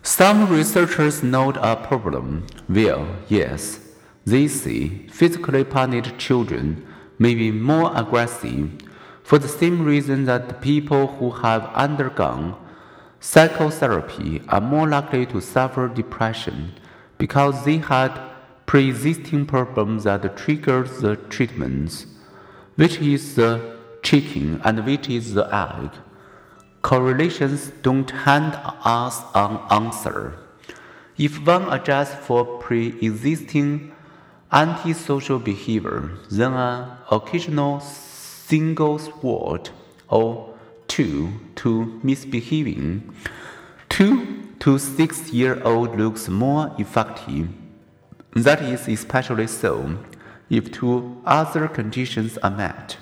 Some researchers note a problem where, yes, they say physically punished children may be more aggressive for the same reason that people who have undergone psychotherapy are more likely to suffer depression because they had pre-existing problems that triggered the treatments, which is the chicken and which is the egg. Correlations don't hand us an answer. If one adjusts for pre-existing antisocial behavior, then an occasional single word or two to misbehaving 2 to 6-year-old looks more effective. That is especially so if two other conditions are met.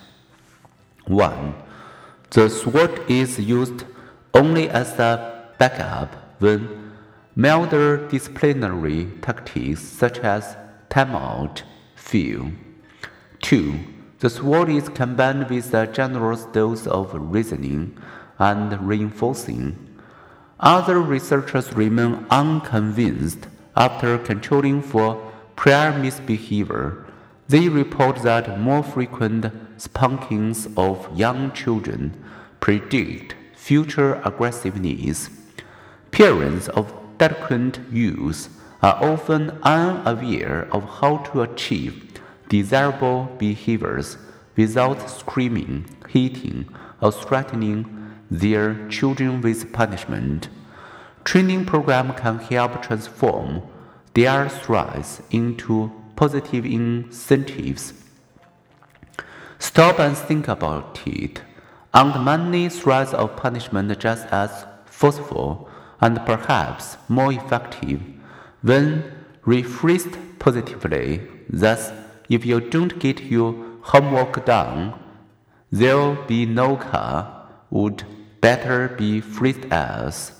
1. The sword is used only as a backup when milder disciplinary tactics such as timeout fail. 2. The sword is combined with a generous dose of reasoning and reinforcing. Other researchers remain unconvinced after controlling for prior misbehavior. They report that more frequent spankings of young children predict future aggressiveness. Parents of delinquent youth are often unaware of how to achieve desirable behaviors without screaming, hitting, or threatening their children with punishment. Training programs can help transform their threats into positive incentives. Stop and think about it. Aren't many threats of punishment just as forceful and perhaps more effective when rephrased positively? Thus, if you don't get your homework done, there'll be no car, would better be phrased as.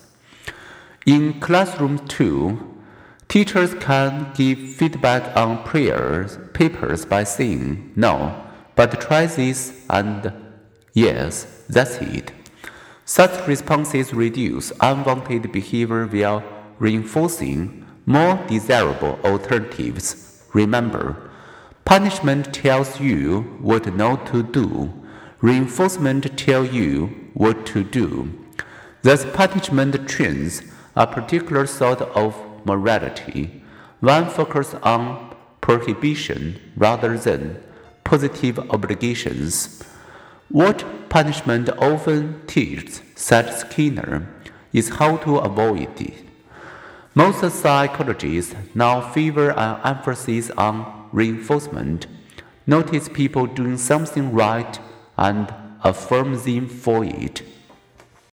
In classrooms too, teachers can give feedback on papers by saying, no, but try this and yes, that's it. Such responses reduce unwanted behavior while reinforcing more desirable alternatives. Remember, punishment tells you what not to do. Reinforcement tells you what to do. Thus, punishment trains a particular sort of morality. One focuses on prohibition rather than positive obligations. What punishment often teaches, said Skinner, is how to avoid it. Most psychologists now favor an emphasis on reinforcement. Notice people doing something right and affirm them for it.